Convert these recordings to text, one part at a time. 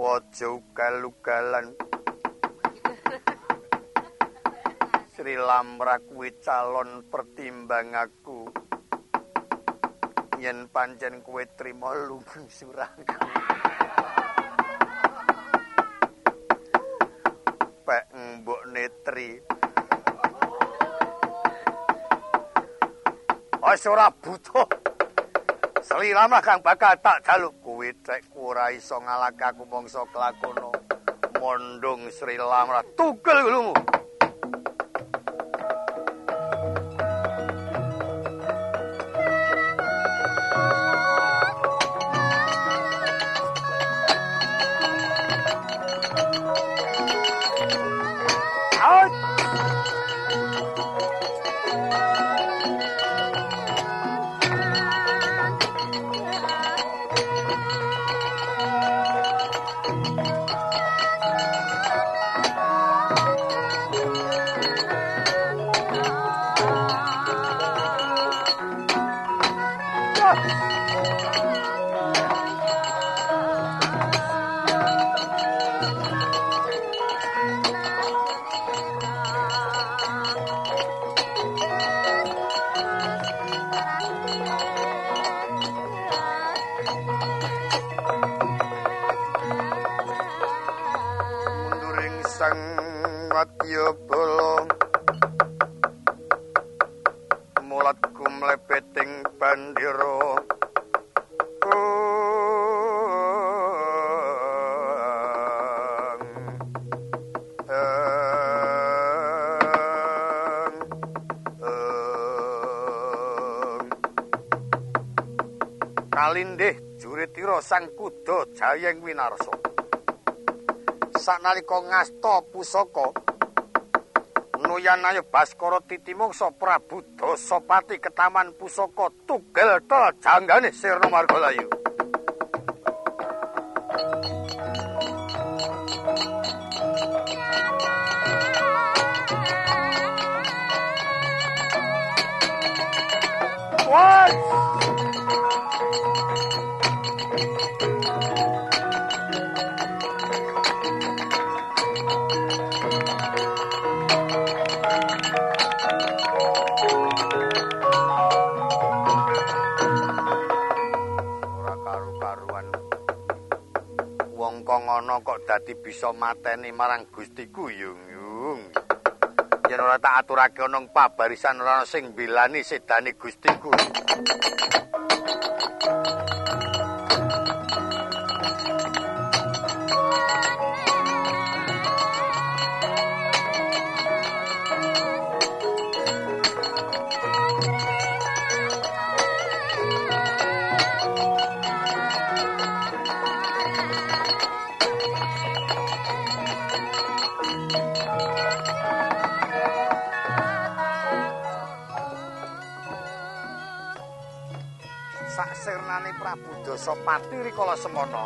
Aja ugal-ugalan. Sri Lamra kuwi calon pertimbang aku. Yen pancen kowe trima lumeng suraku. Pek Mbok Netri. Wis ora butuh. Sri Lamra kang bakal tak jaluk kuwi cek ora iso ngalahke aku mangsa kelakono. Mondong Sri Lamra tugel gulumu. Wadyabala mulat kumlebeting bandira kalindih juritira sang kuda Jayeng Winarsa sanalika ngasta pusaka Nuyanaya Baskara Titimungsa Prabu Dasapati ketaman pusaka tugel tel janggane Sirna Margalayu. What? Ngono kok dadi bisa mateni marang Gustiku yung. Yen ora tak aturake ana pabarisan ora sing mbelani sedane Gustiku. Saksirnane Prabu Dasapati rikala semana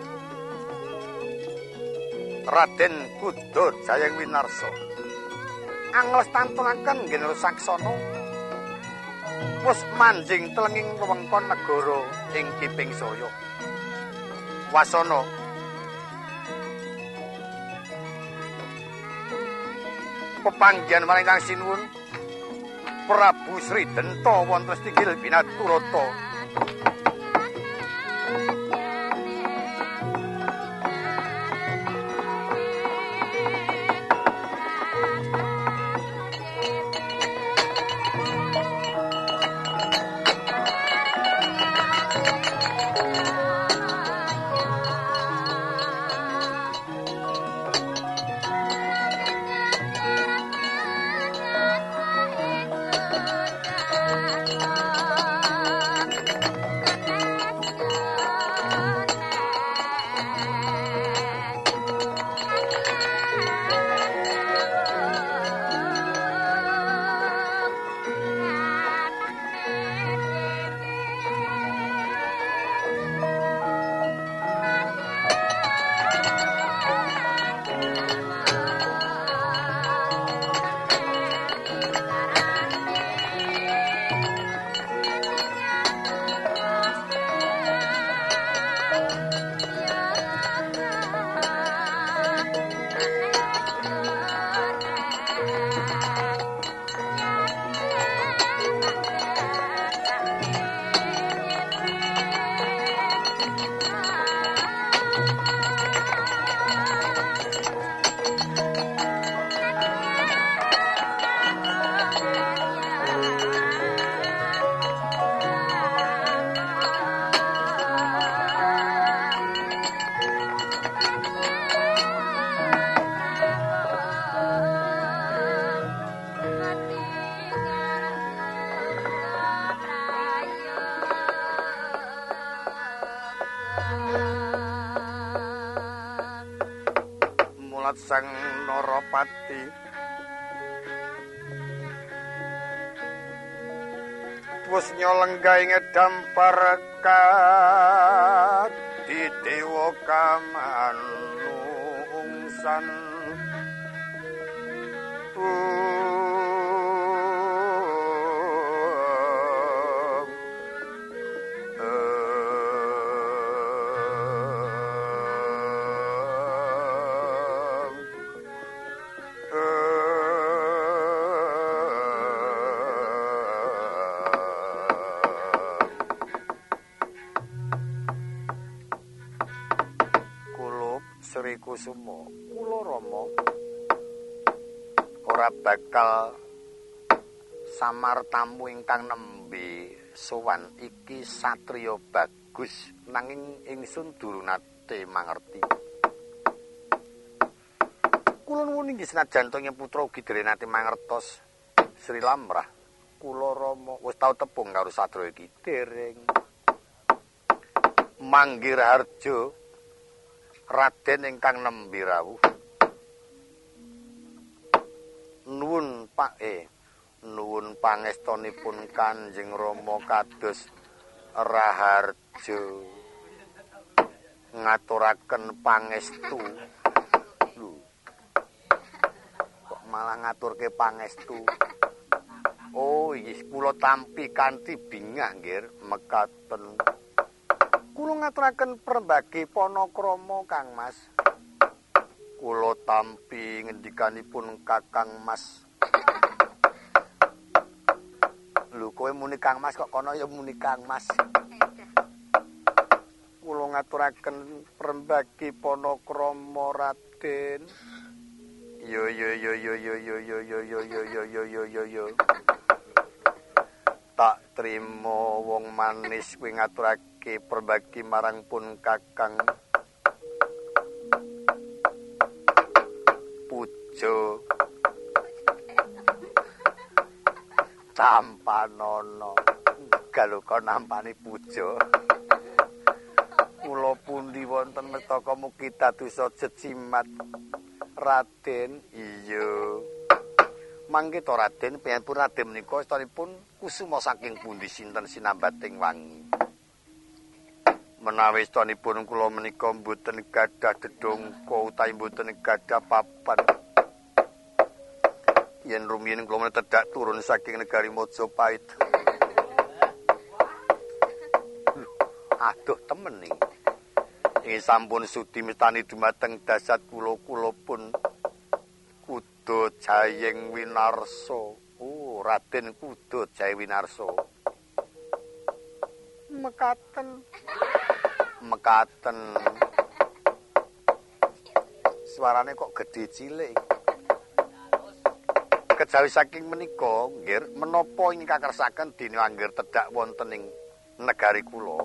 Raden Kuda Jayeng Winarsa anglestatunake nggih saksana wis manjing telenging wewengkon negara ing Kiping Saya. Wasana pepanggihan maring Kang Sinuwun Prabu Sri Denta wonten Stigil Binaturata. Sempat sang Narapati wis nyolenggah dampar di dewa kamanungsan Sri Kusuma, kula Rama ora bakal samar tamu ingkang nembe sowan iki satriya bagus nanging ingsun durung nate mangerti. Kula nuwun inggih senajan to putra ugi dereng nate mangertos Sri Lamrah. Kula Rama wis tau tepung karo satriya iki dereng. Manggih Harjo Raden ingkang nembe rawuh nuwun nuwun pangestunipun Kanjeng Rama kados Raharja ngaturaken pangestu. Lho kok malah ngaturke pangestu. Oh iya kula tampi kanthi bingah nggih mekaten. Kula ngaturaken prembagi panakrama Kang Mas. Kula tampi ngendikanipun Kakang Mas. Lho kowe muni Kang Mas kok kono ya muni Kang Mas. Kula ngaturaken prembagi panakrama Raden. Yo. Tak trima wong manis kuwi ngaturake perbagi marang pun Kakang Pujo Tampanono galuka nampani Pujo kula pundi wonten mestaka mugi dados jecimat Raden. Iya mangke to Raden piyambun Raden menika istanipun kusuma saking pundi sinten sinambating wangi. Menawi istanipun kula menika mboten gadah dedongko utawi mboten gadah papan. Yen rumiyin kula tedak turun saking negari Majapahit. Aduh temen iki. Ing sampun sudi mestani dumateng dasat kula pun Kuda Jayeng Winarsa. Oh, Raden Kuda Jayeng Winarsa. Mekaten. Suarane kok gedhe cilik. Kejawi saking menika, nggih, menapa ingkang kakersaken dene anggere tedhak wonten ing negari kula.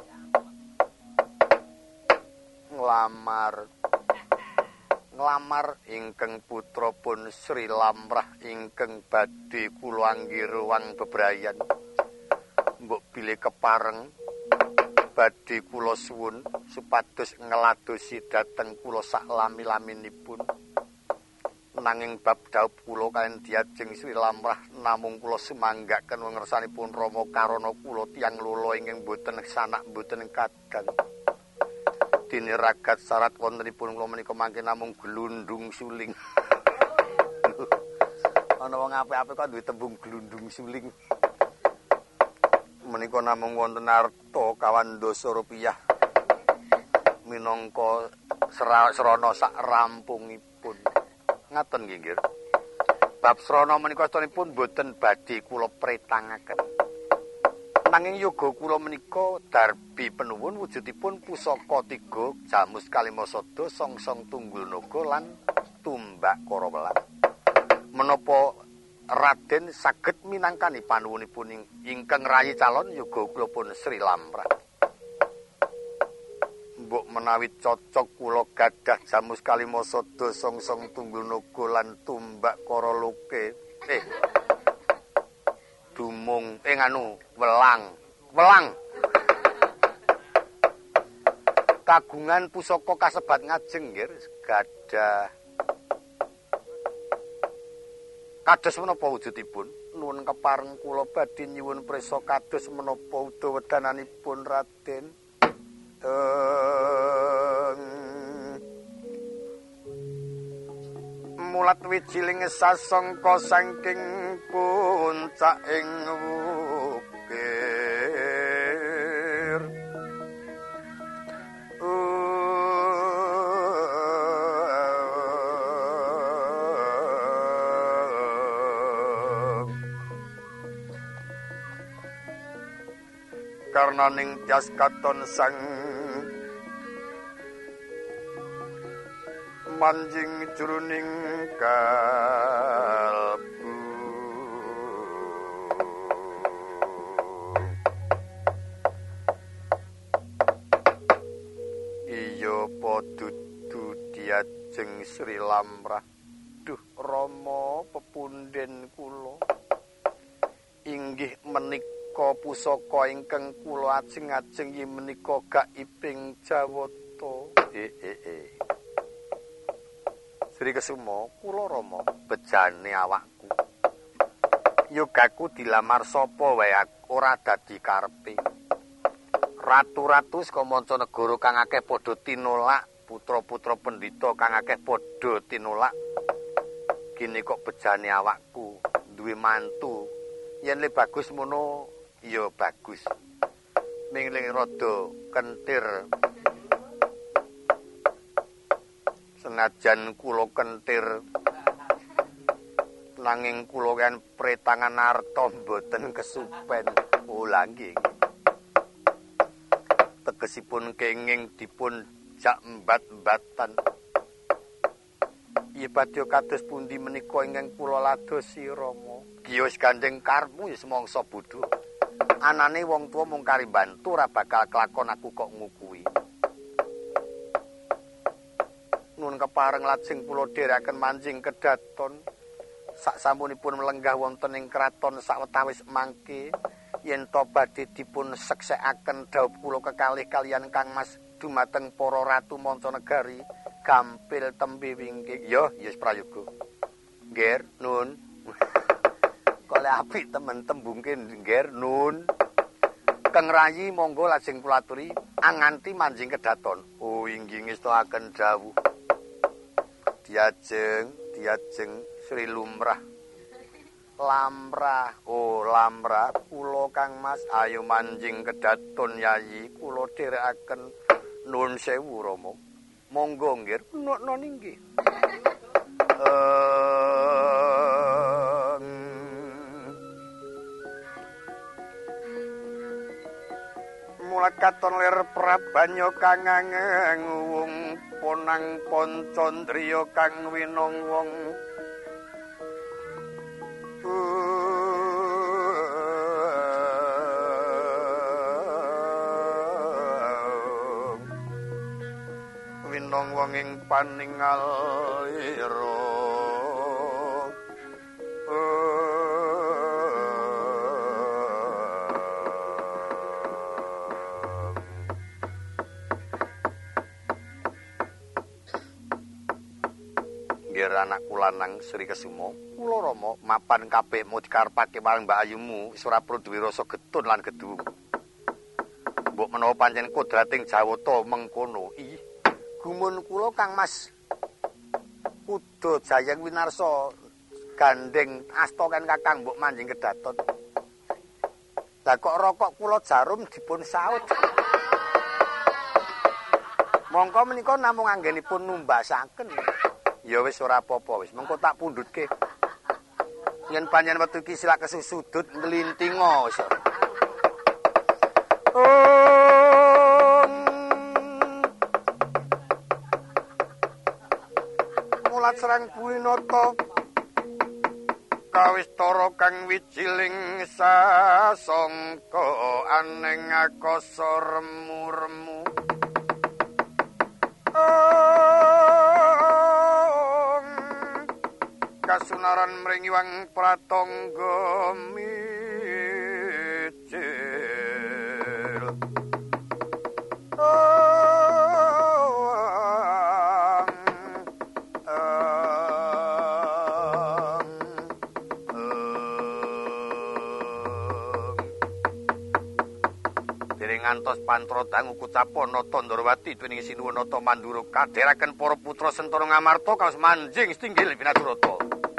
Nglamar ingkang putra pun Sri Lamrah ingkang badhe kula anggere wang bebrayan. Mbok bilih kepareng badhe kula suwun supados ngladosi dhateng kula sak lami-laminipun. Nanging bab dhaup kula kaliyan diajeng Sri Lamrah namung kula sumanggaken ngersanipun Rama Karana kula tiyang lula ingkang boten sanak boten kadang. Dene ragat syarat wontenipun kula menika mangke namung glundung suling. Ana wong apik-apik kok duwe tembung glundung suling. Menika namung wonten arta kawan dasa rupiah. Minangka srana sak rampungipun. Ngaten nggih, nggih. Bab srana menika astunipun boten badhe kula pretangaken. Nanging yoga kula menika darbi penuwun wujudipun pusaka 3 Jamus Kalimasada Songsong Tunggul Naga lan Tumbak Karawelan. Menapa Raden saged minangkani panuwunipun ingkang rayi calon yoga kula pun Sri Lamrah. Mbok menawi cocok kula gadah Jamus Kalimasada Songsong Tunggul Naga lan Tumbak Karaloke. Dumung welang kagungan pusaka kasebat ngajeng nggih gadah Kados menapa wujudipun? Nuwun kepareng kula badhe nyuwun prisa kados menapa udawedananipun Raden. Mulat wijiling sasangka saking puncak-ing wukir. Karena ning tias katon sang manjing jroning kalbu iya podudu diajeng Sri Lamrah. Duh Rama pepunden kula inggih menika pusaka ingkang kula ajeng-ajeng yen menika gaibing Jawata. Sri Kesuma, kula Rama bejane awakku. Yogaku dilamar sapa wae ora dadi karepe. Ratu-ratu saka mancanegara kang akeh padha tinolak, putra-putra pendhita kang akeh padha tinolak. Kene kok bejane awakku duwe mantu. Yen le bagus mono ya bagus. Mingling rada kentir. Senajan kula kentir nanging kula kan pretangan arta mboten kesupen. Oh lha nggih. Tegesipun kenging dipun jak embat-embatan. Iya badhe kados pundi menika ingkang kula ladosi Rama. Kiyos gandeng karepmu ya semangsa bodho. Anane wong tuwa mung kari bantu ora bakal kelakon aku kok ngukuhi. Nun kepareng lajeng kula dherekaken manjing kedaton. Saksampunipun melenggah wonten ing kraton sawetawis mangke yen to badhe dipun seksekaken dawuh kula kekalih kaliyan Kang Mas dumateng para ratu mancanegari gampil tembe wingking. Yo, yes prayoga. Nggih, Nun. Kole apik temen tembungke nggih, Nun. Kang Rayi monggo lajeng kula aturi anganti manjing kedaton. Oh, inggih ngestakaken dawuh. Diajeng Sri Lumrah. Lamrah, oh Lamrah, kula Kang Mas ayo manjing kedaton Yayi, kula dherekaken nuwun sewu Rama. Monggo nggih, menokno nggih. Mulat katon lir Prabanyo kang ngewung ponang Pancandriya kang winong wong winong wong ing paningal ira anakku lanang Sri Kesuma, kula Rama mapan kabehmu dikarepake marang Mbak Ayumu wis ora perlu duwe rasa getun lan gedu. Mbok menawa pancen kodrating Jawata mengkono. Ih, gumun kula Kang Mas Kuda Jayang Winarsa gandeng asta kan Kakang mbok manjing kedaton. Lah kok rokok kula jarum dipun saut. Mongko menika namung anggenipun numbasaken. Ya wis ora apa-apa wis, mengko tak pundhutke. Yen panjenengan metu iki silak kesusudut nglintinga wis. Mulat serang Buinata kawistara kang wijiling sasangka aneng akasa remu-remu. Kasunaran mringiwang pratangga micil ngantos Pantro dangu kucapana Tandrawati dening sinuwun nata Mandura kadheraken para putra Sentara Ngamarta kaos manjing stinggil Winadurata.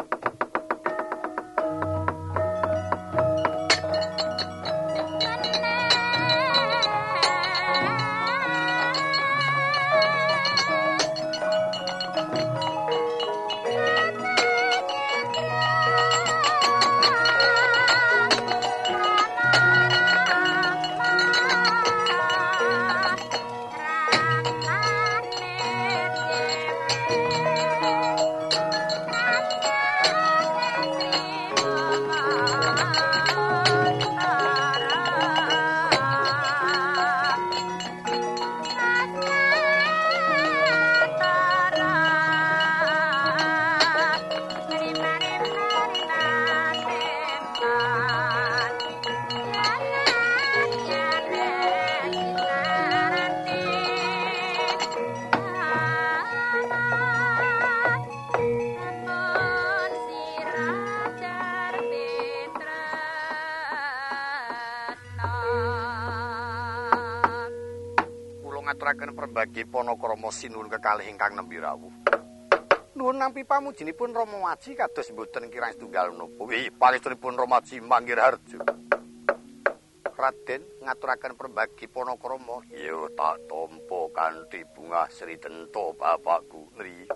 Perbagi Panakrama sinuwun kekalih ingkang nembe rawuh. Nuwun nampi pamujinipun Rama Waji kados mboten kirang setunggal menapa. Nggih, palestunipun Rama Waji manggih harja. Raden ngaturaken perbagi Panakrama. Ya tak tampa kanthi bungah Sri Tenta bapakku nri.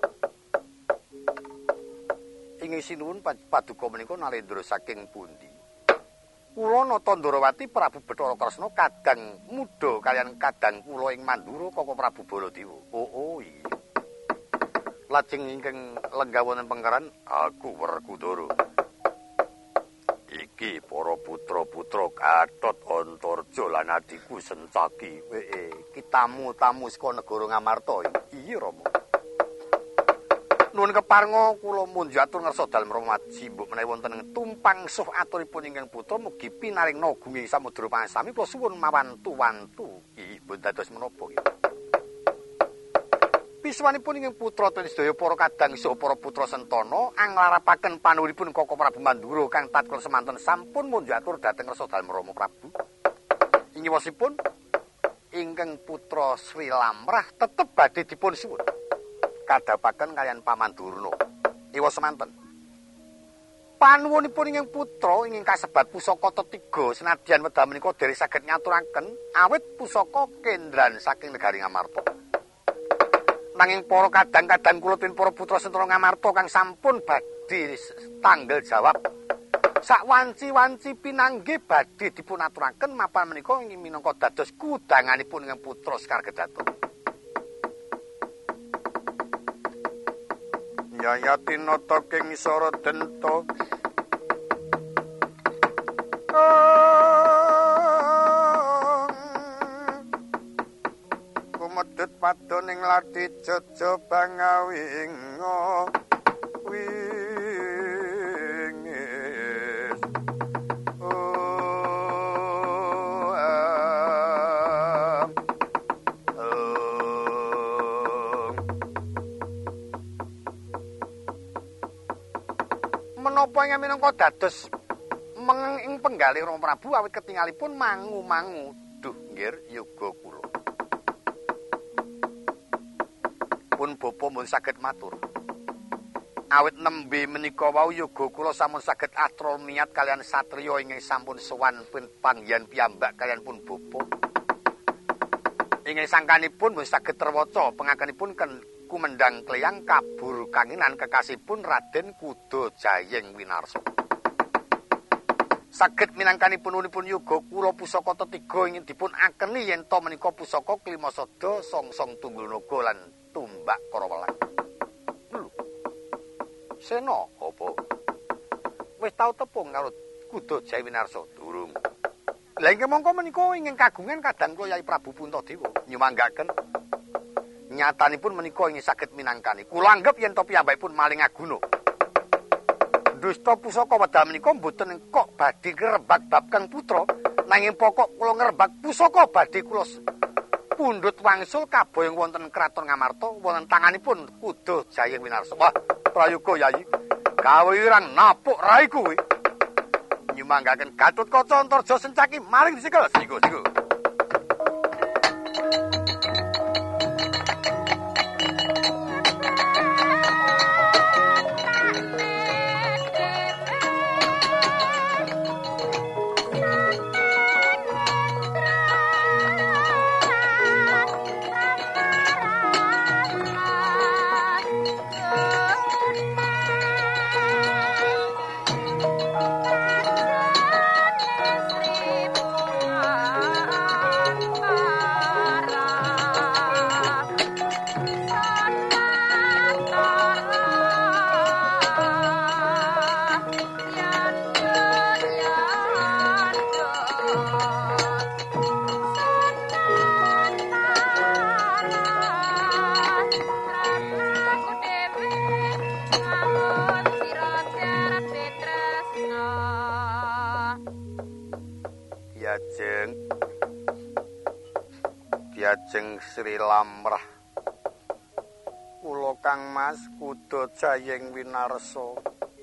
Ingin sinuwun paduka menika Nalendra saking pundi? Kula nata Ndrawati Prabu Bathara Kresna kadang muda kalian kadang kula ing Mandura Koko Prabu Baladewa. Oh iya. Lajeng ingkang lenggah wonten pengkeran aku Werkudara. Iki para putra-putra Gatot Antarja lan adikku Sencaki. Iki tamu-tamu saka negara Ngamarta. Iya Rama. Nuwun keparenga kula munjatur ngersa dalem Rama Waji mbok menawi wonten tumpang suh aturipun ingkang putra mugi pinaring nagunging samudra pangsami kula suwun mawantu-wantu. Nggih, mboten dados menapa nggih. Piswanipun ingkang putra ten sedaya para kadang saha para putra Sentana anglarapaken panuwunipun Koko Prabu Mandura kang tatkala semanten sampun munjatur dhateng ngersa dalem Rama Prabu. Ingiwosipun ingkang putra Sri Lamrah tetep badhe dipun suwun kadapaken kalian Paman Durna. Iwa semanten. Panuwunipun ingkang putra ingkang kasebat pusaka tetiga senadyan wedal menika dereng saged nyaturaken awit pusaka kendran saking negari Ngamarta. Nanging para kadang-kadang kula ten para putra Sentara Ngamarta kang sampun badhe tanggel jawab sak wanci-wanci pinanggih badhe dipun aturaken mapan menika ingin minangka dados kudanganipun ingkang putra Sekar Gedhaton. Yayati nata king isara denta kumedhut padha ning lati jaja bangawinga wingis menapa ingkang minangka dados ing penggalih Rama Prabu awit ketingalipun mangu-mangu duh nggir yoga kula pun bapa mun saged matur awit nembe menika wau yoga kula sampun saged atrol niat kalian satriya ingkang sampun sowan panggihan piyambak kalian pun bapa ingkang sangkanipun mun saged terwaca pengakenipun kumendang kleyang kabur kanginan kekasihipun Raden Kuda Jayeng Winarsa. Saged minangkanipun unipun yoga kula pusaka tetiga ingin dipun akeni yen to menika pusaka Klimasada Songsong Tunggul Naga lan Tumbak Karawelang. Lho. Sena apa? Wis tau tepung karo Kuda Jayeng Winarsa durung. Lah ingkang mongko menika ingin kagungan kadang kula Yai Prabu Puntadewa nyumanggaken nyatanipun menika ingin saged minangkani. Kula anggap yen to piyambakipun maling aguna. Dusta pusaka wedal menika mboten kok badhe ngrebak bab Kang Putra, nanging pokok kula ngrebak pusaka badhe kula pundhut wangsul kaboyong wonten kraton Ngamarta wonten tanganipun Kuda Jayeng Winarsa. Wah, prayoga Yayi. Gawe irang napuk rai kuwi. Nyumanggaken Gatotkaca Antarja Sencaki maling dicekel. Sigo. Lajeng Sri Lamrah kula Kang Mas kudu jayeng winarsa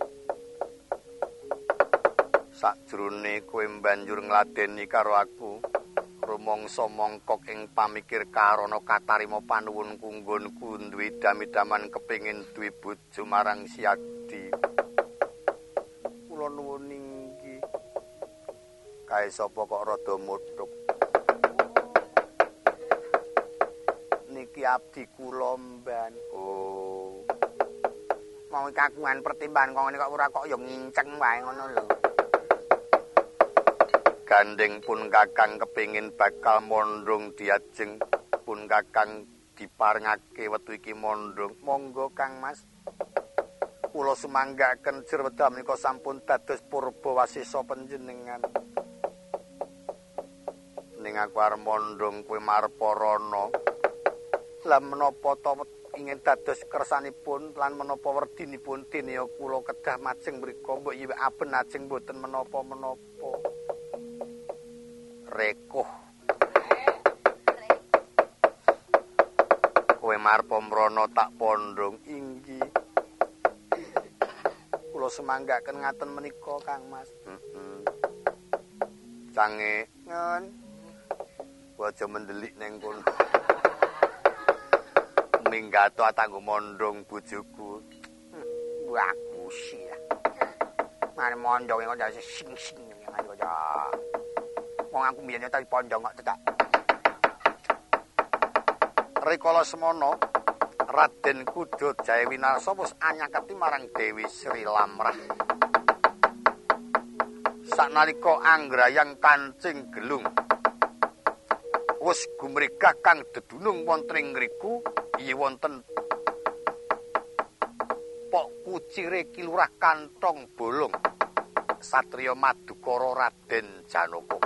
sakjroning kowe banjur ngladeni karo aku rumangsa mongkok ing pamikir karana katarima panuwun kunggonku duwe dami-daman kepengin duwe bojo marang Siadi kula nuwun inggih kae sapa kok rada muthuk niki abdi kula mban. Oh. Mau kagungan pertimbangan kok ngene kok ora kok ya nginceng wae ngono lho. Gandeng pun Kakang kepingin bakal mondong diajeng pun Kakang diparengake wektu iki mondong. Monggo Kang Mas. Kula sumanggaken jer wedal menika sampun dados purba wasesa panjenengan. Ning aku arep mondong kowe marparana. Lan menapa ta ingin dados kersanipun lan menapa werdinipun dene kula kedah majeng mriku mbok yiwek aben ajeng mboten menapa-menapa. Rekoh. Kowe marpa mrana tak pondong inggih. Kula semanggaken ngaten menika Kang Mas. Cange ngon. Aja mendelik ning kono. Minggato atanggo mondong bojoku. Aku sih. Mare mondong kok dadi sing-sing ngene kok. Wong aku mbiyen tak pondong kok tetak. Rikala semana Raden Kuda Jaya Winarsa wis anyaketi marang Dewi Sri Lamrah. Saknalika anggrayang kancing gelung wis gumregah kang dedunung wonten ing ngriku iya wonten Pok Kucire Kilurah Kantong Bolong Satriya Madukara Raden Janaka.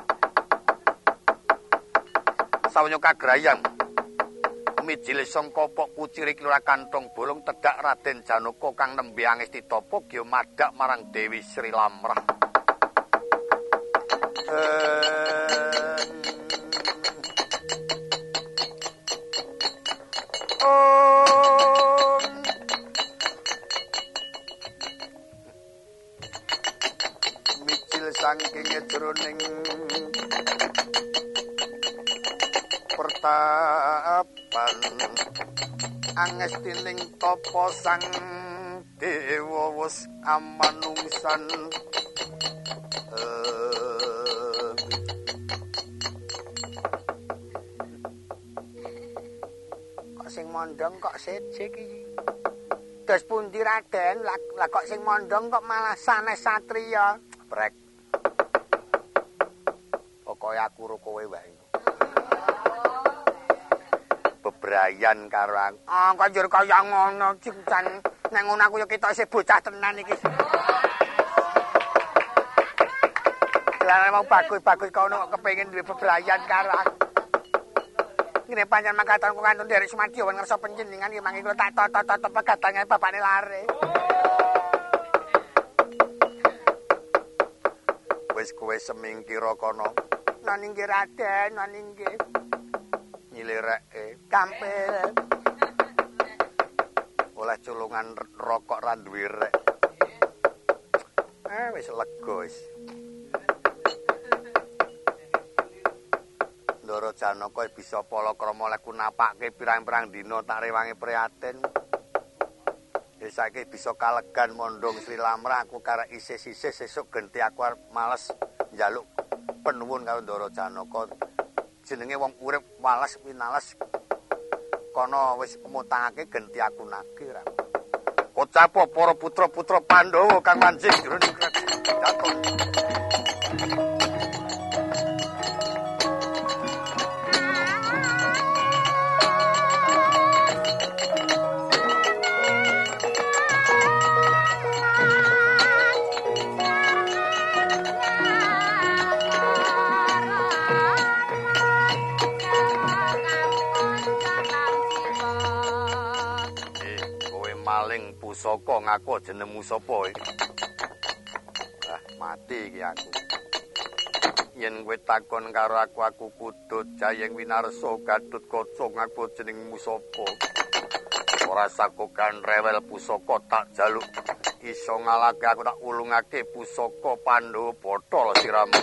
Sawenya kagrayang mijil sangka Pok Kucire Kilurah Kantong Bolong tedhak Raden Janaka kang nembe angesti tapa ya madhak marang Dewi Sri Lamrah. Saking jroning pertapan angestining tapa sang dewa wis amanungsan kok sing mondong kok sejek iki dos pundi Raden lah kok sing mondong kok malah sanes satriya brek kaya aku ro kowe wae. Bebrayan karo aku. Ah, kok njur kaya ngono, Cincan. Nek ngono aku ya ketok isih bocah tenan iki. Lah mau bagus-bagus kono kok kepengin duwe bebrayan karo aku. Ngene pancen mangkatan kok kantun derek Sumadyo wen ngersa panjenengan iki mangke kula tak tot-tot pegadange bapakne lare. Wis kowe semingkira kono. Naninggih Raden, naninggih. Nyilireke kampil. Oleh culungan rokok ra duwe rek. Wis lega wis. Ndara Janaka bisa palakrama leku napake pirang-pirang dina tak rewangi prihatin. Wis saiki bisa kalegan mondong Sri Lamrah aku karek isih-isih sesuk genti aku arep males njaluk penuwun karo Ndara Janaka. Jenenge wong urip wales winales. Kono wis mutangake genti aku nagih ra. Kocapa para putra-putra Pandhawa kang manjing jroning kraton. Pusaka ngaku jenengmu sapa iki? Ah, mati iki aku. yen kowe takon karo aku kudu Jayeng Winarsa Gatotkaca ngaku jenengmu sapa. Ora sakokan rewel pusaka tak jaluk iso ngalake aku tak ulungake pusaka Pandhawa Bathara siramu.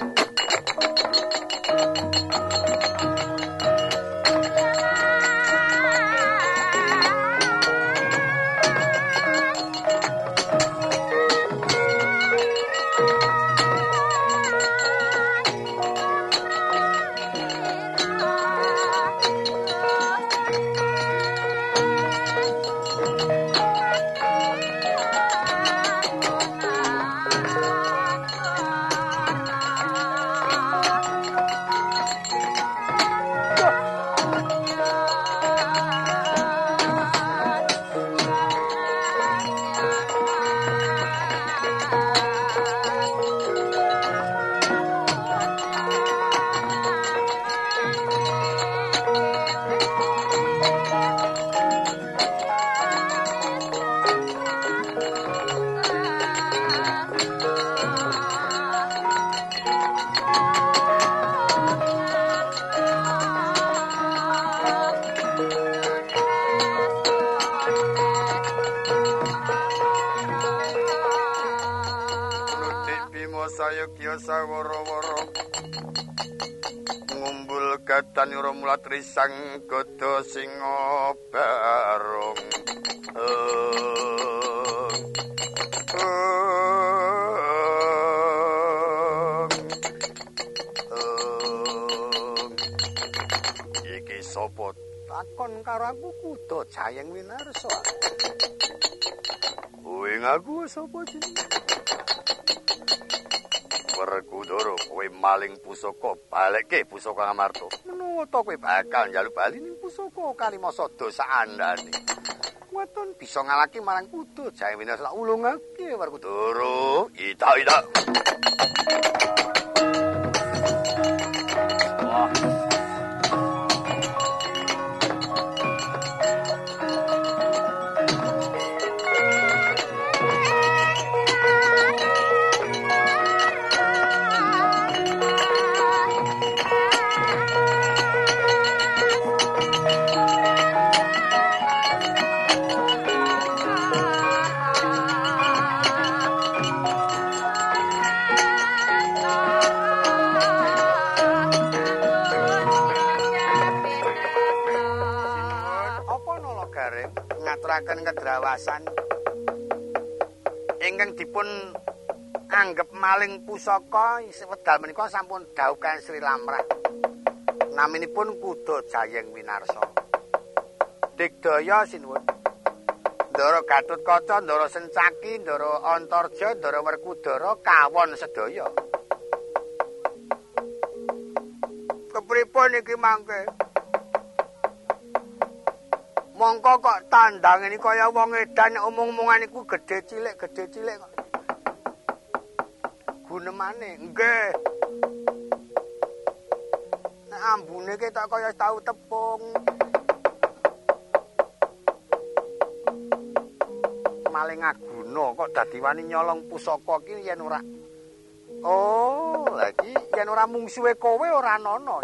Sayogya sawara-wara ngumbul gadanira mulatri sang gada singa barong iki sapa takon karo aku kudu Jayeng Winarsa. Kowe ngaku sapa jenenge? Werkudara kowe maling pusaka balekke pusaka Ngamarta. Menawa to kowe bakal njaluk bali ning pusaka Kalimasa dosa andane. Weton bisa ngalaki marang kudu Jayeng Winarsa ulungake Werkudara. Ida. Wah. Ngaturaken kedrawasan ingkang dipun anggep maling pusaka wedal menika sampun dhaukan Sri Lamrah. Naminipun kudu Jayeng Winarsa. Digdaya sinuwun. Ndara Gatotkaca, Ndara Sencaki, Ndara Antarja, Ndara Werkudara kawon sedaya. Kepripun iki mangke? Mongko kok tandang ini kaya wong edan omong-omongan iku gedhe cilik kok. Gunemane, nggih. Nek ambune ki tak kaya tau tepung. Maling aguna kok dadi wani nyolong pusaka ki yen ora. Oh, lagi yen ora mungsuhe kowe ora ana.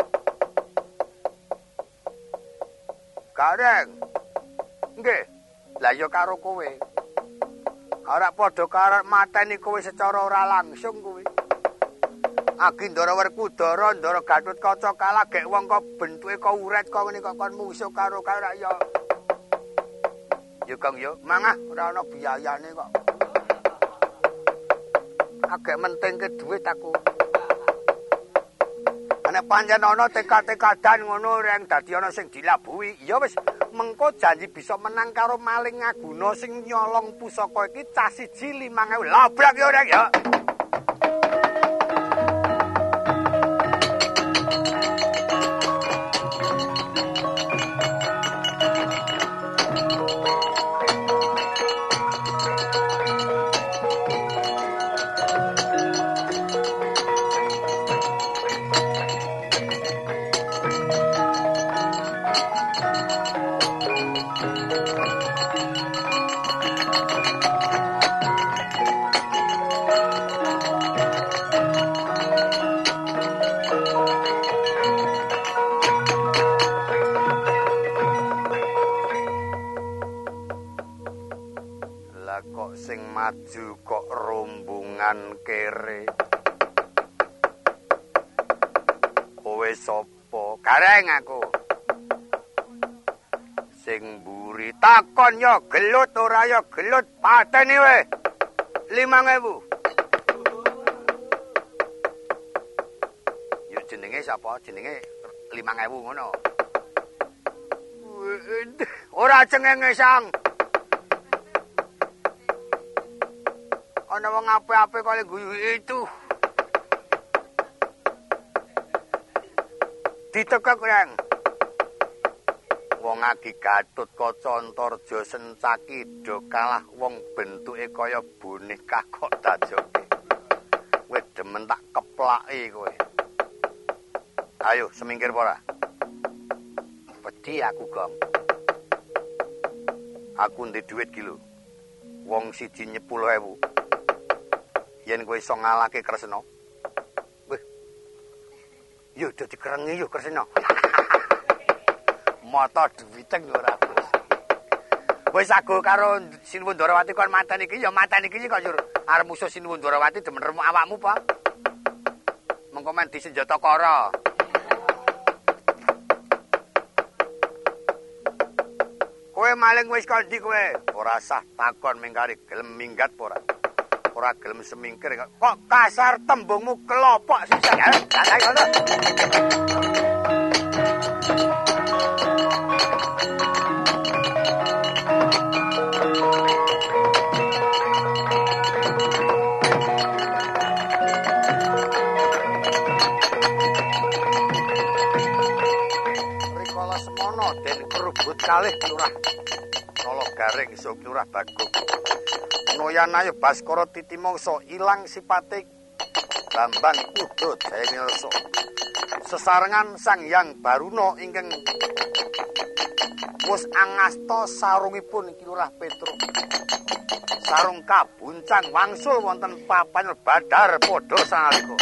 Gareng. Nggih. Lah ya karo kowe. Ora padha karo mateni kowe secara ora langsung kowe. Agindara Werkudara, Ndara Gatotkaca kalah gek wong kok bentuke kok uret kok ngene kok kon mungsuh karo ya. Ya Kang ya, mangah ora ana biayane kok. Agek mentingke dhuwit aku. Nek pancen ana tekad-tekadan ngono reng dadi ana sing dilabuhi, ya wis mengko janji bisa menang karo maling ngaguna sing nyolong pusaka iki cah siji 5.000. Labrak ya reng ya. Lah kok sing maju kok rombongan kere. Kowe sapa? Gareng aku. Sing mburi takon ya gelut ora ya gelut pateni we. 5.000. Yo jenenge sapa? Jenenge 5.000 ngono. Ora cengenge sang. Ana wong apik-apik kok guyu itu. Ditekek yang. Wong agi Gatut Kaca Antarja Sencaki do kalah wong bentuke kaya boneka kok dajoke. Kowe demen tak keplaki kowe. Ayo semingkir ora? Wedi aku, Gong. Aku ndek dhuwit ki lho. Wong siji 10.000. Yen kowe iso ngalahke Kresna. Wih. Yo dadi kerengi yo Kresna. Mata duwiteng ora bos. Wis aku karo Sinuwun Ndarawati kon mateni iki ya mateni iki kok yur. Arep musuh Sinuwun Ndarawati demen remuk awakmu apa? Mengko men disenjata kara. Kowe maling wis kondi kowe? Ora sah takon mingkari gelem minggat apa ora? Ora gelem semingkir kok kasar tembungmu kelopok sisa. Ya, ngono. Rikala semono den kerubut kalih lurah Nala Garing iso lurah Bagong. Noyan ayo Baskara Titimangsa ilang sipate Bambang Kuda Jayamilsa. Sesarengan Sang Hyang Baruna ingkang wus angasta sarungipun iki lurah Petruk. Sarung kabuncang wangsul wonten papan Badar padha sanalika.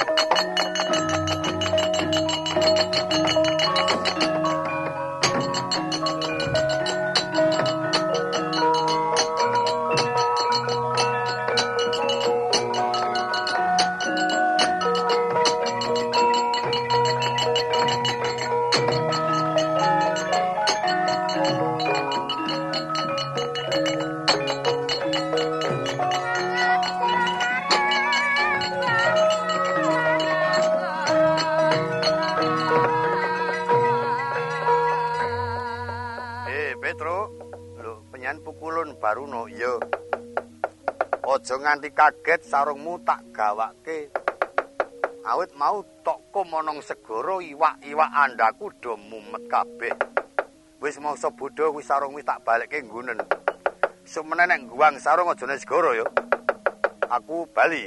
Baruna, iya. Aja nganti kaget sarungmu tak gawake. Awit mau tokko monong segara iwak-iwak andaku do mumet kabeh. Wis mangsa bodho wis sarung wis tak balekke nggunen. Sumene nek guwang sarung aja nang segara ya. Aku bali.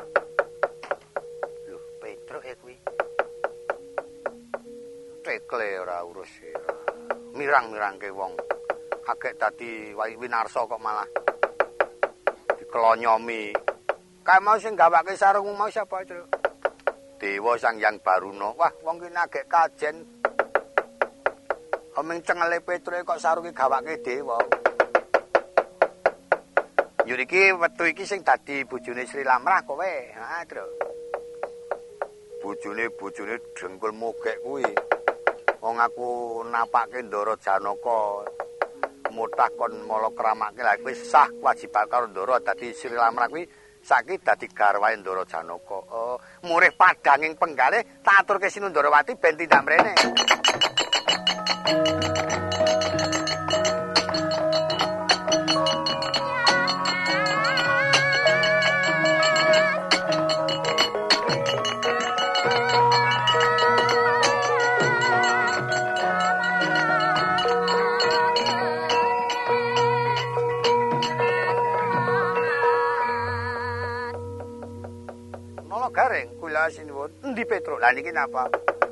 Lho, Petruk ya kuwi. Tekle ora urus ya. Mirang-mirangke wong. Agek dadi winarsa kok malah dikelonyomi. Kae mau sing gawake sarungmu mau sapa, Tru? Dewa Sang Hyang Baruna. Wah, wong ki agek kajen. Omeng cengele Petruk kok sarunge gawake dewa. Yo iki wektu iki sing dadi bojone Sri Lamrah kowe. Heeh, Tru. Bojone dengkul mogek kuwi. Wong aku napake Ndara Janaka mutah kon mala kramake lha kuwi sah kewajiban karo Ndara dadi Sri Lamrah kuwi saiki dadi garwahe Ndara Janaka. Oh, murih padanging penggalih tak aturke Sinuwun Ndarawati ben tindak mrene. Garing kula sinuwun endi Petruk lha niki napa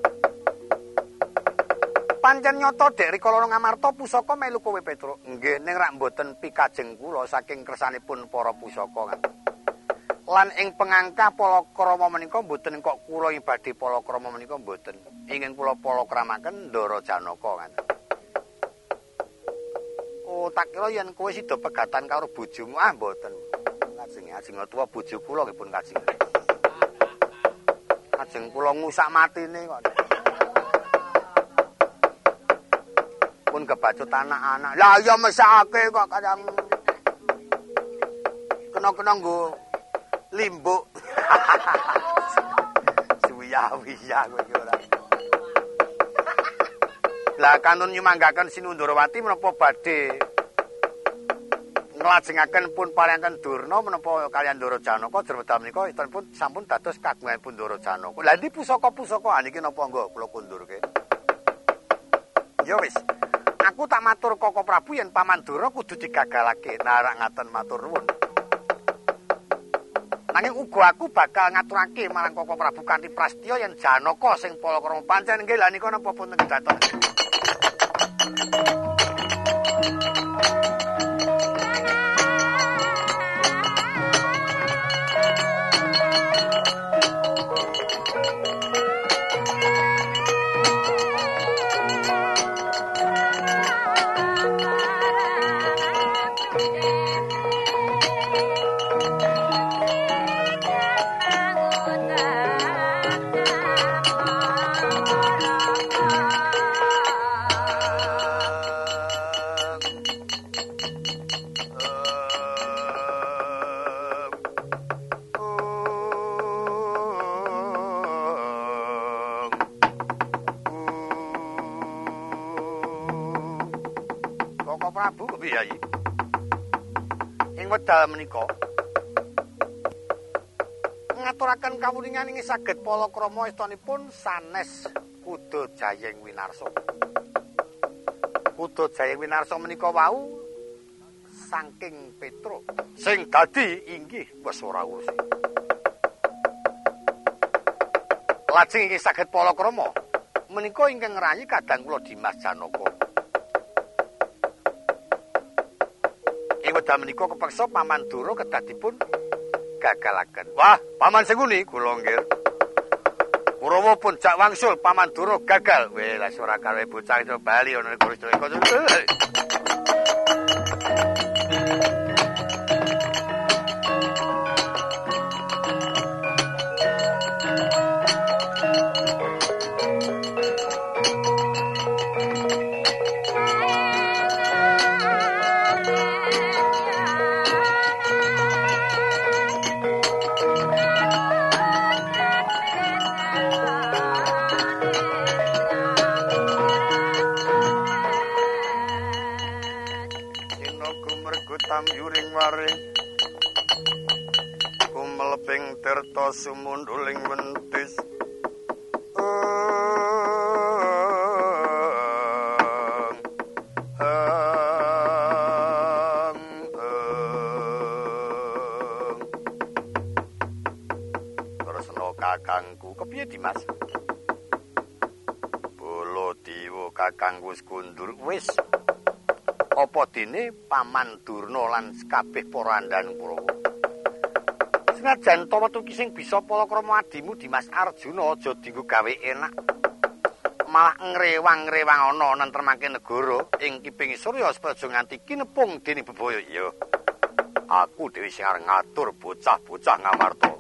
pancen nyata dek rikala Ngamarta pusaka melu kowe Petruk nggih ning rak mboten pikajeng kula saking kersanipun para pusaka kan lan ing pengangkah palakrama menika mboten kok kula ibadhe palakrama menika mboten ingin kula palakramaken Ndara Janaka kan oh tak kira yen kowe sida pegatan karo bojomu. Ah mboten. Ajeng tuwa bojo kula nggih pun kajeng. Ajeng kula ngusak matine kok. Pun kebacut anak-anak. Lah ya mesake kok kadang kena-kena nggo limbuk. Suwiya-wiya kowe iki ora. Lah kanun nyumanggaken Sinundrawati menapa badhe nglajengaken pun paringaken Durna menapa kaliyan Ndara Janaka jerwedal menika pun sampun dados kagunganipun Ndara Janaka. Lah ndi pusaka-pusaka niki napa nggo kula kundurke. Ya wis. Aku tak matur Koko Prabu yen Paman Dura kudu digagalake. Nah rak ngaten matur nuwun. Nanging uga aku bakal ngaturake marang Koko Prabu kanthi prastya yen Janaka sing palakrama pancen nggih lha nika napa pun kedaton. Wekdal menika ngaturaken kawuningan ing saged palakrama estanipun sanes Kuda Jayeng Winarsa. Kuda Jayeng Winarsa menika wau saking Petruk sing dadi inggih wis ora urus. Lajeng ing saged palakrama menika ingkang ngrayi kadang kula Dimas Janaka. Wekdal menika kepeksa Paman Dura kedadipun gagalaken. Wah, Paman Senguni kula nggih. Kurawa pun jak wangsul Paman Dura gagal. Weh, lah ora karo bocah iso bali ana negara Jawa. Tamyuring waring kumelebing tirta sumunduling wentis Tresna kakangku kepiye Dimas? Bolo diwa kakang wis kundur wis. Apa dene Paman Durna lan kabeh para andhaning Kurawa. Senajan ta wetu ki sing bisa palakrama adimu Dimas Arjuna aja dienggo gawe enak. Malah ngrewang-ngrewang ana nentremake negara ing kiping Surya supaya aja nganti kinepung dening bebaya. Ya. Aku dhewe sing arep ngatur bocah-bocah ngamarta.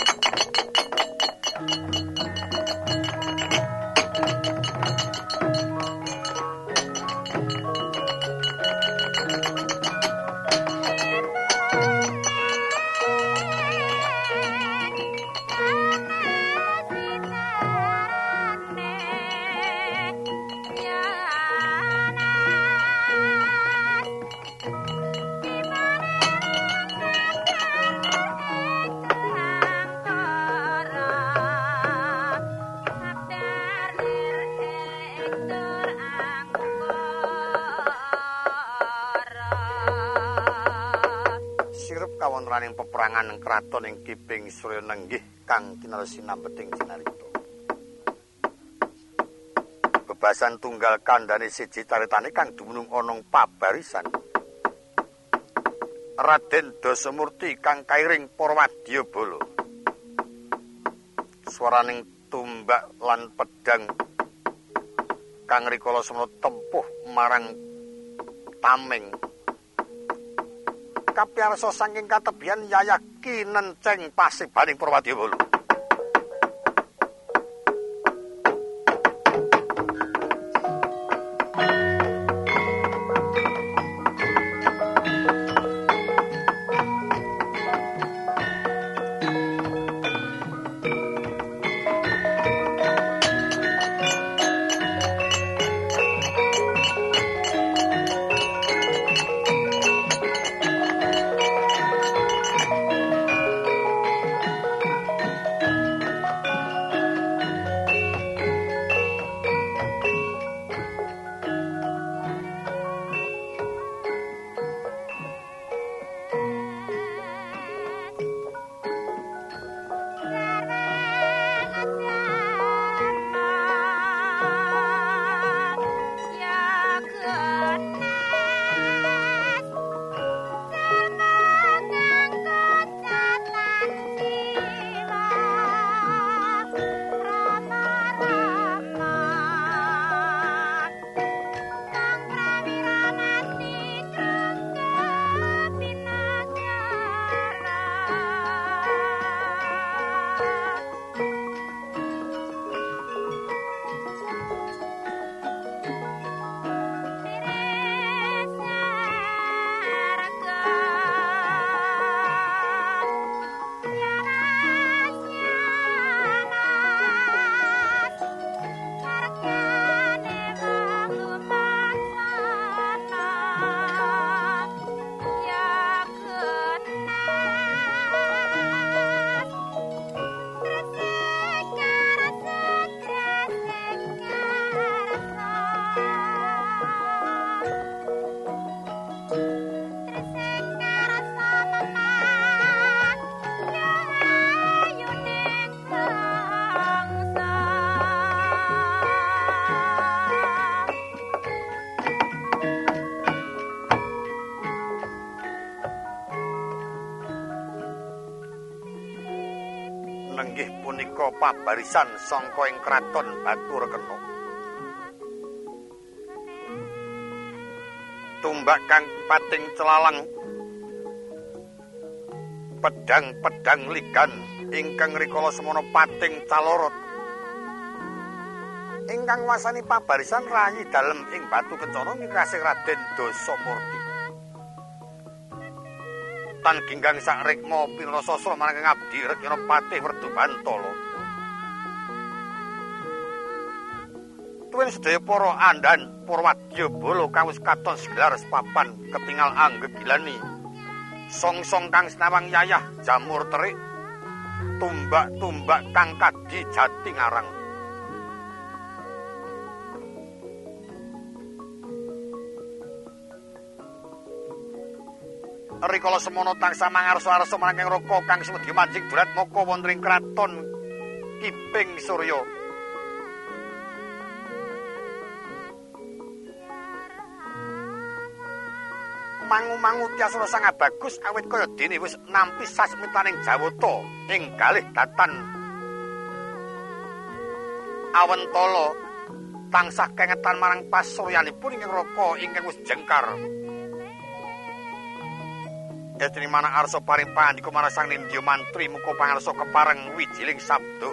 Kawontenaning peperangan ing kraton ing Kiping Surya nenggih kang kinaresi nambeting cinarita. Bebasan tunggal kandhane siji caritane kang dumunung ana pabarisan. Raden Dasamurti kang kairing para wadyabala. Swaraning tumbak lan pedang kang rikala semana tempuh marang tameng kapiarsa saking katebian Yayah kinenceng pasibaning Prawadya. Nenggih punika pabarisan sangka ing kraton Baturkena. Tumbak kang pating celalang, pedang-pedang ligan ingkang rikala semana pating calorot. Ingkang wasani pabarisan rayi dalem ing Batukencana mikasih Raden Dasamurti. Tan ginggang sak rikma pinrasastra marang ngabdi Rekna Patih Werdubantala. Tuwin sedaya para andhan Purwadya Bala kawis katon segelar sepapan ketingal anggegilani. Song-song kang sinawang Yayah Jamur Terik, tumbak-tumbak kang kadi jati ngarang. Rikala semana tansah mangarsa-arsa marang Raka kang sumedya manjing durat maka wonten ing kraton Kiping Surya. Mangu-mangu Tyasura Sang Bagus awit kaya dene wis nampi sasmitaning Jawata ing kalih datan Awentala tansah kengetan marang pasuryanipun ingkang Raka ingkang wis jengkar. Dene manah arsa paring pandika marang Sang Nindya Mantri muga pangarsa kepareng wijiling sabda.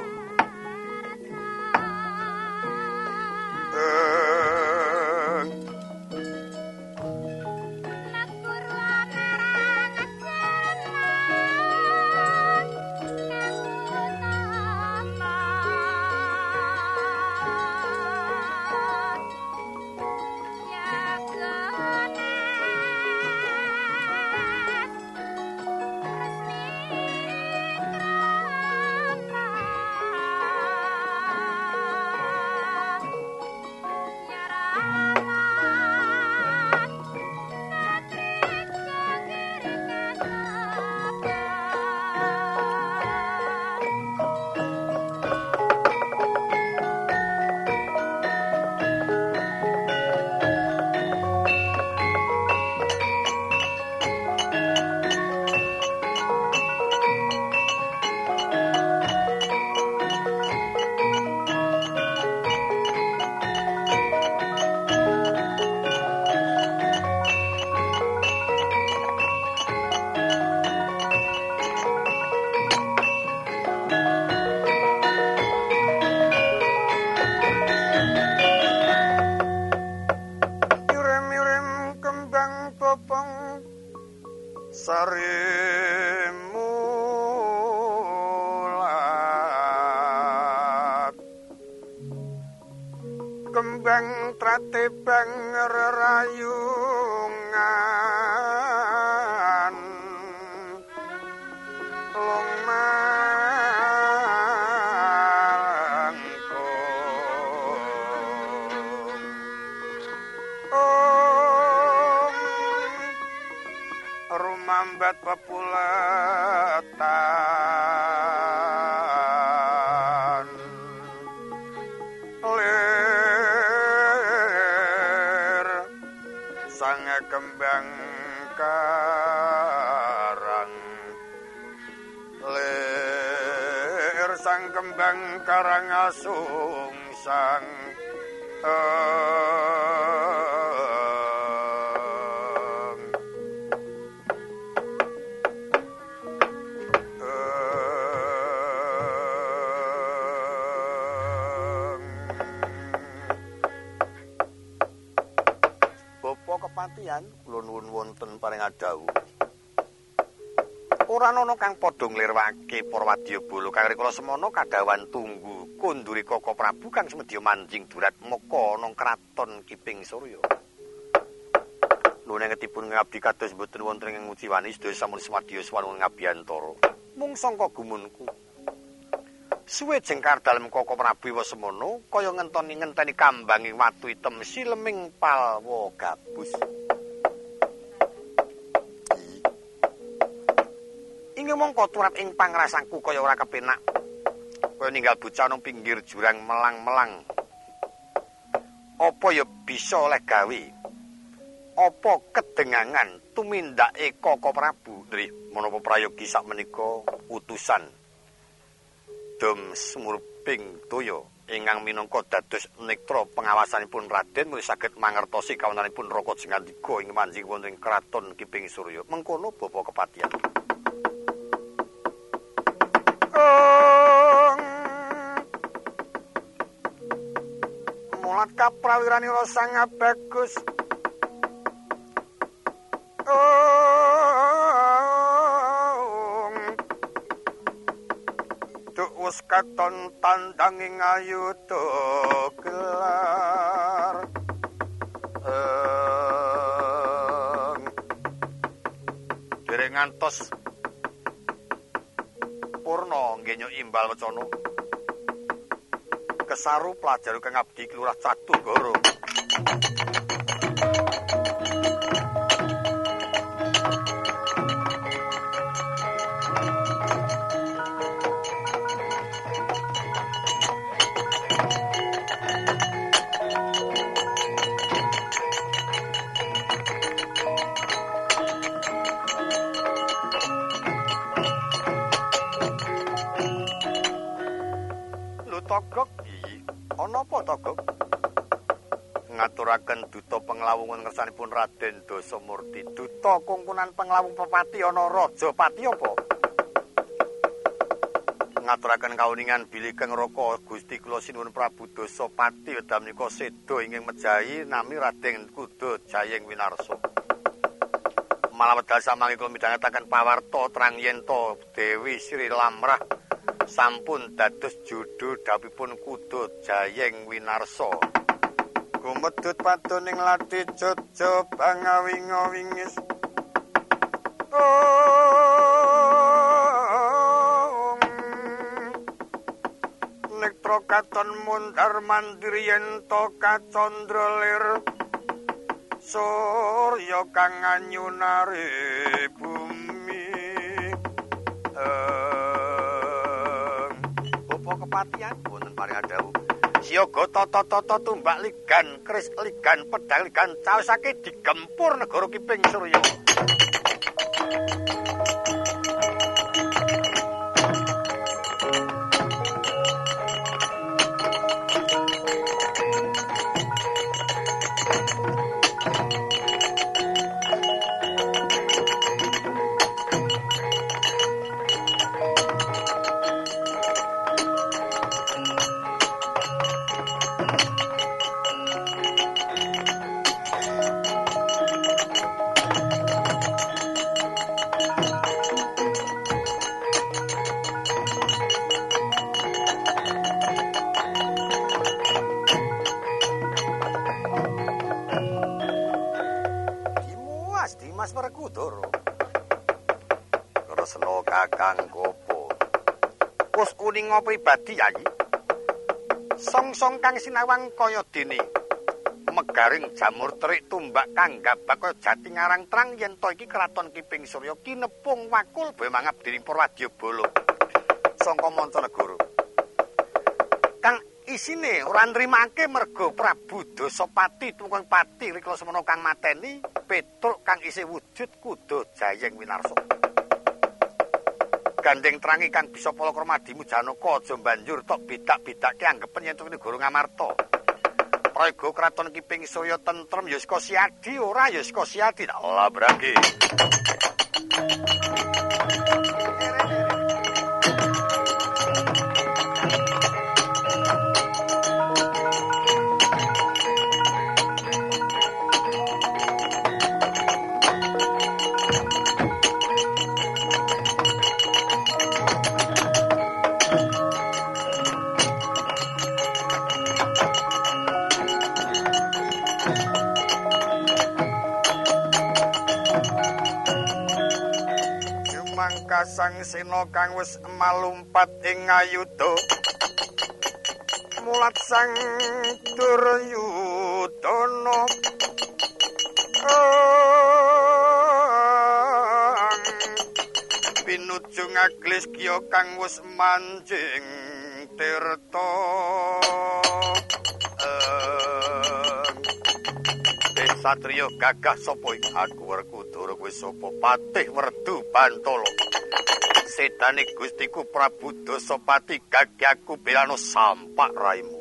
Sarimulat kembang tratebang rerayungan long rumambat pepulatan lir sang kembang karang lir sang kembang karang asung sang kepatihan kula nuwun wonten paring adawu ora ana kang padha nglirwake para wadyabala kang rikala semana kadawan tunggu kunduri Koko Prabu kang semedya manjing durat maka nang kraton Kiping Surya nunengetipun ngabdi kados boten wonten ing nguciwani sedaya sampun swadya swanun ngabiyantara mung sangka gumunku suwe jengkar dalem Koko Prabu Wasemana kaya ngenteni kambanging watu item sileming palwa gabus. Inggih mongko turap ing pangrasangku kaya ora kepenak. Kaya ninggal bocah nang pinggir jurang melang-melang. Apa ya bisa oleh gawe? Apa kedengangan tumindake Koko Prabu? Nggih, menapa prayogi sakmenika utusan Dom Smurping Toya ingkang minangka dados nektra pengawasanipun Raden mulih saged mangertosi kawontenanipun Raka Jengandika ing manjing wonten ing kraton Kiping Surya. Mengkono bapa kepatihan. Mulat kaprawiranira sang bagus. Wis katon tandanging ayuda gelar dereng ngantos purna nggih imbal wacana kesaru pelajar kang abdi kelurah Cadugara. Togok iki ana apa Togok? Ngaturaken duta penglawungan ngersanipun Raden Dasamurti. Duta kungkunan penglawung pepati ana Rajapati apa? Ngaturaken kauningan bilih Kang Raka Gusti kula sinuwun Prabu Dasapati wedal menika seda ingkang mejahi nami Raden Kuda Jayeng Winarsa. Malah wedal samangke kula midhangetaken pawarta terang yen to Dewi Sri Lamrah sampun dados judul dawuhipun Kuda Jayeng Winarsa. Gumedhut padoning lati jojo bangawinga-wingis. Nektra katon mundhar mandir yen to kacandra lir. Surya kang anyunari bumi. Kepatihan wonten paring adawu siaga tata-tata tumbak ligan kris ligan pedang ligan caosake digempur negara Kiping Surya. Mancanegara. Kresna Kakang Kopo. Wis uninga pribadi Yayi. Song-song kang sinawang kaya dene megaring jamur terik tumbak kang gabak kaya jati ngarang terang yen to iki kraton Kiping Surya kinepung wakul bae mangap dening Prawadya Bala sangka Mancanegara. Kang isine ora nrimake merga Prabu Dasapati tumeng pati rikala semana kang mateni Petruk kang isih wujud kuda Jayeng Winarsa. Gandeng terangi kang bisa palakrama dimu Janaka aja banjur tok bedak-bedake anggepen yen tuwine Guru Ngamarta. Prayoga kraton Kiping Surya tentrem ya saka siadi ora ya saka siadi. Allah brangge. Sang sena kang wis malumpat ing ayuda mulat sang Duryudana pinuju ngaglisya kang wis manjing tirta Satriya gagah sapa iki aku Werkudara kowe sapa patih Werdu Bantala Sedane Gustiku Prabu Dasapati gagahku belano sampak raimu.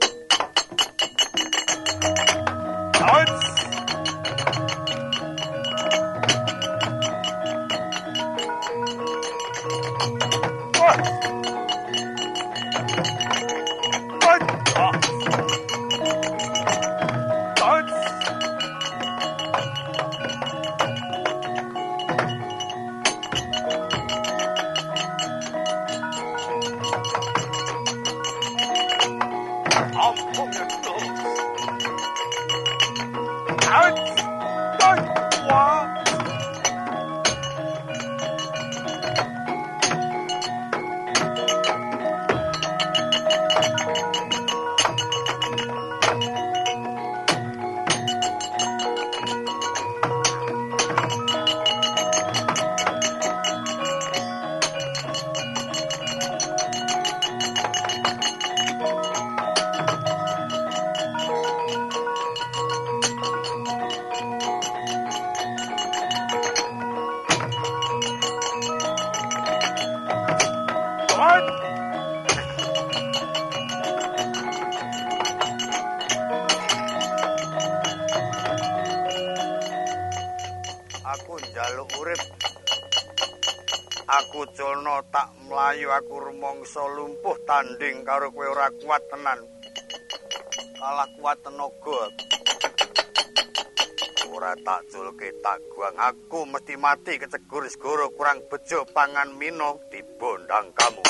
Aku culna tak mlayu aku rumangsa lumpuh tanding karo kowe ora kuat tenan. Kalah kuat tenaga. Ora tak julke tak guang aku mesti mati kecegur segoro kurang bejo pangan mino dibondang kamu.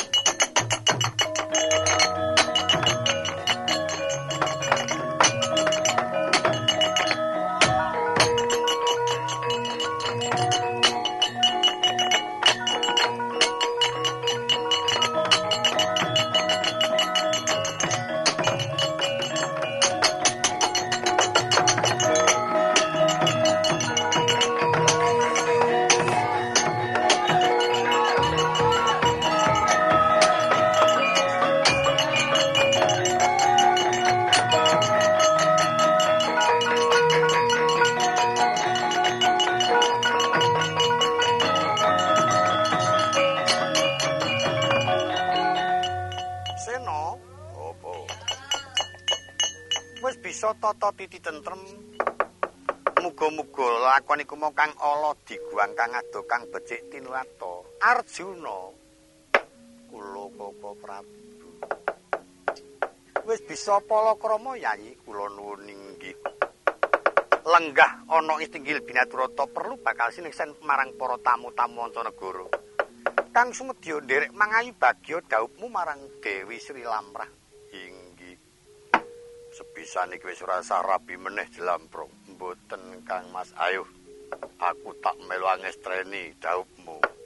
Tata titi tentrem muga-muga lakon iku mau kang ala diguang kang ado kang becik tinrata Arjuna kula Bapa Prabu wis bisa palakrama Yayi kula nuwun inggih lenggah ana Istinggil Binaturata perlu bakal sineksen marang para tamu-tamu Mancanegara kang sumedya nderek mangayu bagya dhawuhmu marang Dewi Sri Lamrah. Sepisan iki wis ora rabi meneh jelamprong. Mboten Kang Mas. Ayo Aku tak melu angestreni dhawuhmu.